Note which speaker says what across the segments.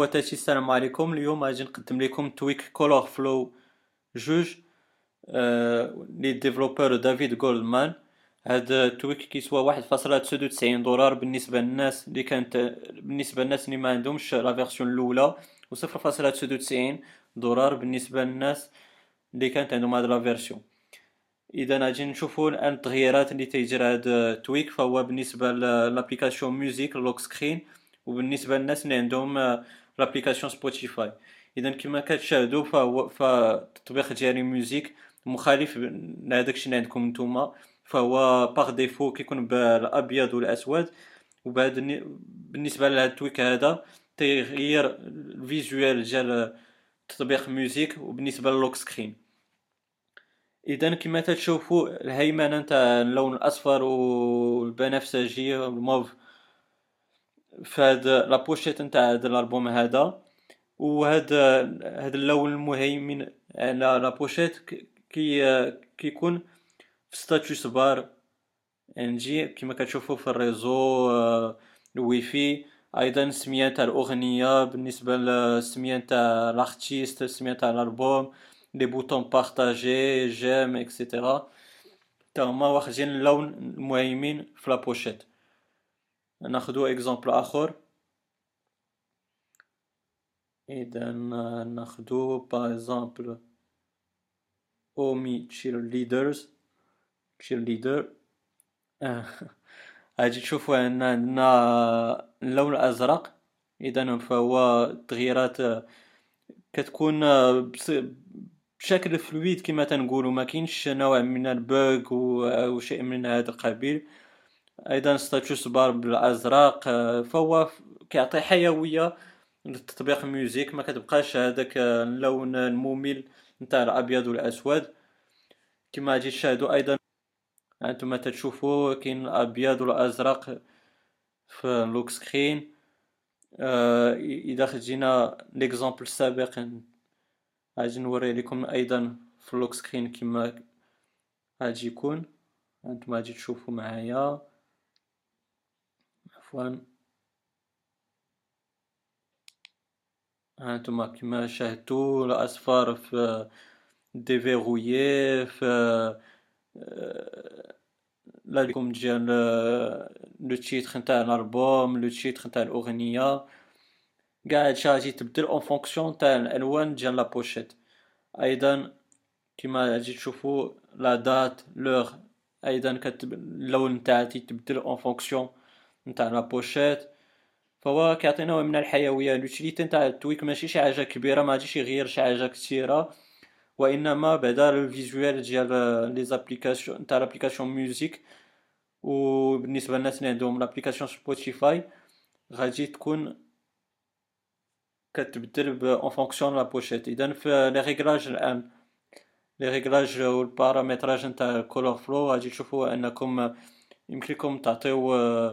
Speaker 1: خواتاتي السلام عليكم. اليوم غادي نقدم لكم تويك كولور فلو جوج لي ديفلوبور دافيد جولدمان. هاد التويك كيسوا 1.99 دولار بالنسبة للناس اللي كانت بالنسبة للناس اللي ما عندهمش لا فيرسيون الأولى، و 0.99 دولار بالنسبة للناس اللي كانت عندهم هاد لا فيرسيون. اذا غادي نشوفوا الان التغييرات اللي تيجرى هذا تويك، فهو بالنسبه لابليكاسيون ميوزيك لوك سكرين، وبالنسبه للناس اللي عندهم لابليكاسيون سبوتيفاي. اذا كما كتشاهدوا فهو التطبيق ديالي ميوزيك مخالف لهذاك الشيء اللي عندكم نتوما، فهو باغ ديفو كيكون بالابيض والاسود. وبعد بالنسبه لهذا التويك هذا تيغير الفيجوال ديال تطبيق ميوزيك وبالنسبه للوك سكرين. اذا كما تشوفوا الهيمنه نتاع اللون الاصفر والبنفسجي والموف في هاد لابوشيت نتاع هاد الالبوم هذا، هاد اللون المهيمن على لابوشيت كيكون في ستاتوس بار. يعني كما كتشوفوا في الريزو الواي فاي. ايضا السميه تاع الاغنيه بالنسبه للسميه تاع لارتيست، السميه تاع الالبوم، لي بوطون بارطاجي جيم اكسيتيرا، تا هما واخدين اللون المهيمن في لابوشيت. ناخدو اكزامبل اخر. اذا ناخدو باغ اكزامبل اومي تشير ليدرز تشير ليدر. غادي تشوفوا ان عندنا اللون الازرق. اذا فهو تغييرات كتكون بشكل فلويد كما تنقولوا، ما كاينش نوع من البوغ او شيء من هذا القبيل. ايضا ستاتوس بار بالازرق، فهو كيعطي حيويه للتطبيق ميوزيك، ما كتبقاش هذاك اللون الممل نتاع الابيض والاسود كما غادي تشاهدوا. ايضا انتم تتشوفوا كاين الابيض والازرق في اللوك سكرين. اذا خدينا ليكزامبل السابق غادي نوري لكم ايضا في اللوك سكرين كما غادي يكون. انتم غادي تشوفوا معايا، عفوا. هانتوما كما شاهدتوا الاصفر في ديفيغويي في لكم ديال لو تيتر نتاع الالبوم، لو تيتر نتاع الاغنيه. كاع هادشي غادي تبدل اون فونكسيون تاع الالوان ديال لا بوشيت. ايضا كما غادي تشوفوا لا دات لوغ، ايضا اللون نتاعها تيتبدل اون فونكسيون نتاع لا بوشيت. فهو كيعطي نوع من الحيويه. لوتيليتي نتاع التويك ماشي شي حاجه كبيره، ما غاديش يغير شي حاجه كثيره، وانما بعدا الفيجوال ديال لي زابليكاسيون نتاع لابليكاسيون ميوزيك. وبالنسبه للناس اللي عندهم لابليكاسيون سبوتيفاي غادي تكون كتبدل اون فونكسيون لا بوشيت. اذا في لي ريغلاج الان، لي ريغلاج والبارامتراج نتاع الكولور فلو، غادي تشوفوا انكم يمكن لكم تعطيو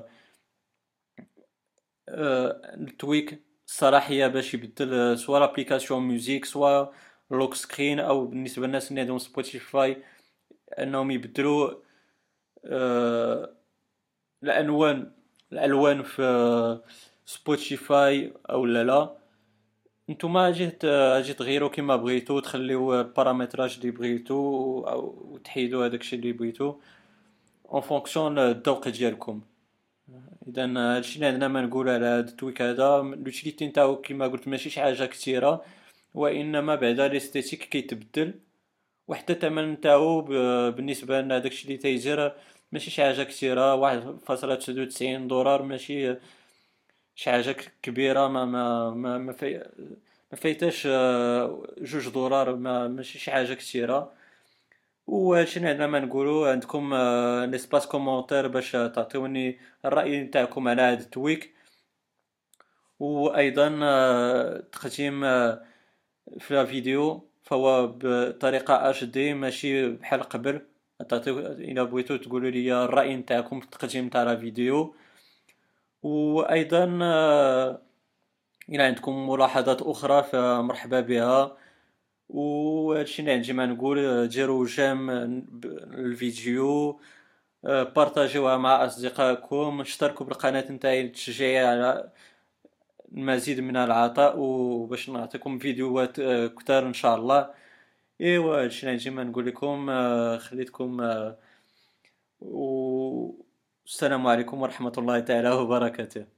Speaker 1: التويك الصلاحيه باش يبدل سوا لابليكاسيون ميوزيك سوا لوك سكرين، او بالنسبه للناس اللي عندهم سبوتيفاي انهم يبدلوا الالوان في سبوتيفاي او لا. نتوما اجي تغيروا كما بغيتو، تخليو البارامتراج اللي بغيتو او تحيدوا هذاك الشيء اللي بغيتو اون فونكسيون الذوق ديالكم. اذا هادشي اللي عندنا ما نقول على هاد التويك هذا. لوتيليتي نتاعو كما قلت ماشي شي حاجه كثيره، وانما بعدا ليستيتيك كيتبدل، وحتى الثمن نتاعو بالنسبه لنا داكشي اللي تيجر ماشي شي حاجه كثيره. 1.99 دولار ماشي شي حاجه كبيره. ما فايتاش 2 دولار، ماشي شي حاجه كثيره. وهادشي اللي عندنا ما نقولوا. عندكم ليسباس كومونتير باش تعطيوني الرأي نتاعكم على هاد التويك. وايضا تقديم في الفيديو فهو بطريقه اش دي ماشي بحال قبل. تعطيو الا بغيتو تقولوا لي الرأي نتاعكم في التقديم تاع الفيديو. وايضا الى عندكم ملاحظات اخرى فمرحبا بها. وهادشي اللي عندي ما نقول. ديروا جيم الفيديو، بارطاجيوها مع اصدقائكم، اشتركوا بالقناه نتاعي للتشجيع على المزيد من العطاء، وباش نعطيكم فيديوهات كتار ان شاء الله. ايوا هادشي اللي نجي ما نقول لكم. خليتكم والسلام عليكم ورحمة الله تعالى وبركاته.